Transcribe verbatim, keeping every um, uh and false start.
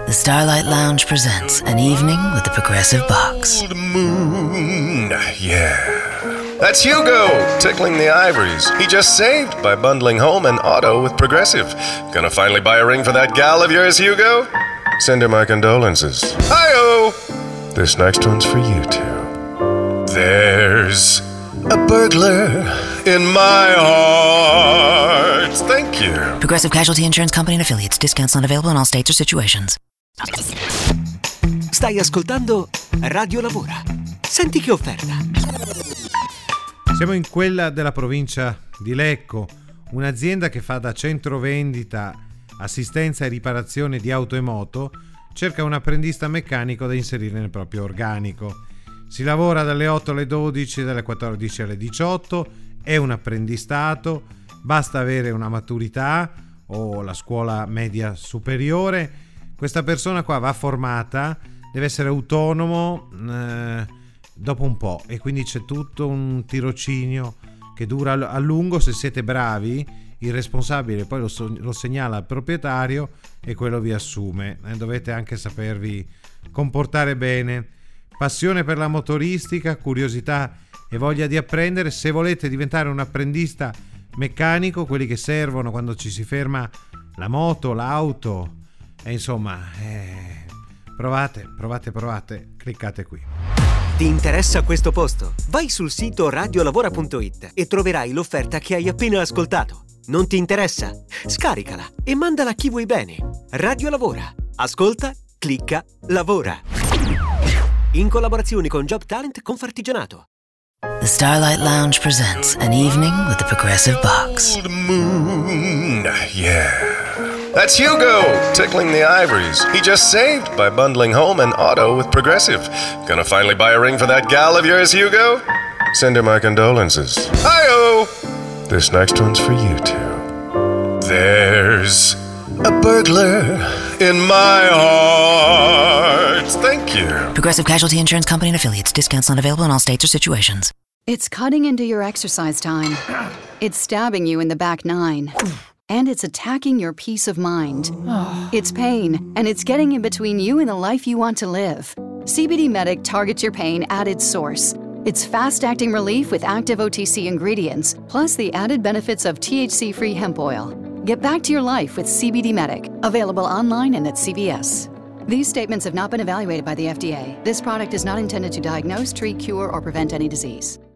The Starlight Lounge presents An Evening with the Progressive Box. Old moon, yeah. That's Hugo, tickling the ivories. He just saved by bundling home and auto with Progressive. Gonna finally buy a ring for that gal of yours, Hugo? Send her my condolences. Hi-oh! This next one's for you two. There's a burglar in my heart. Thank you. Progressive Casualty Insurance Company and Affiliates. Discounts not available in all states or situations. Stai ascoltando Radio Lavora. Senti che offerta. Siamo in quella della provincia di Lecco, un'azienda che fa da centro vendita, assistenza e riparazione di auto e moto, cerca un apprendista meccanico da inserire nel proprio organico. Si lavora dalle otto alle dodici, dalle quattordici alle diciotto, è un apprendistato, basta avere una maturità o la scuola media superiore. Questa persona qua va formata, deve essere autonomo eh, dopo un po', e quindi c'è tutto un tirocinio che dura a lungo. Se siete bravi, il responsabile poi lo, so, lo segnala al proprietario e quello vi assume. Eh, dovete anche sapervi comportare bene. Passione per la motoristica, curiosità e voglia di apprendere. Se volete diventare un apprendista meccanico, quelli che servono quando ci si ferma la moto, l'auto, e insomma, eh, provate, provate, provate, cliccate qui. Ti interessa questo posto? Vai sul sito radiolavora punto it e troverai l'offerta che hai appena ascoltato. Non ti interessa? Scaricala e mandala a chi vuoi bene. Radio Lavora. Ascolta, clicca, lavora. In collaborazione con Job Talent Confartigianato. The Starlight Lounge presents An Evening with the Progressive Box. Old moon, yeah. That's Hugo, tickling the ivories. He just saved by bundling home and auto with Progressive. Gonna finally buy a ring for that gal of yours, Hugo? Send her my condolences. Hi-oh! This next one's for you two. There's a burglar in my heart. Thank you. Progressive Casualty Insurance Company and Affiliates. Discounts not available in all states or situations. It's cutting into your exercise time. It's stabbing you in the back nine. And it's attacking your peace of mind. It's pain, and it's getting in between you and the life you want to live. C B D Medic targets your pain at its source. It's fast-acting relief with active O T C ingredients, plus the added benefits of T H C-free hemp oil. Get back to your life with C B D Medic. Available online and at C V S. These statements have not been evaluated by the F D A. This product is not intended to diagnose, treat, cure, or prevent any disease.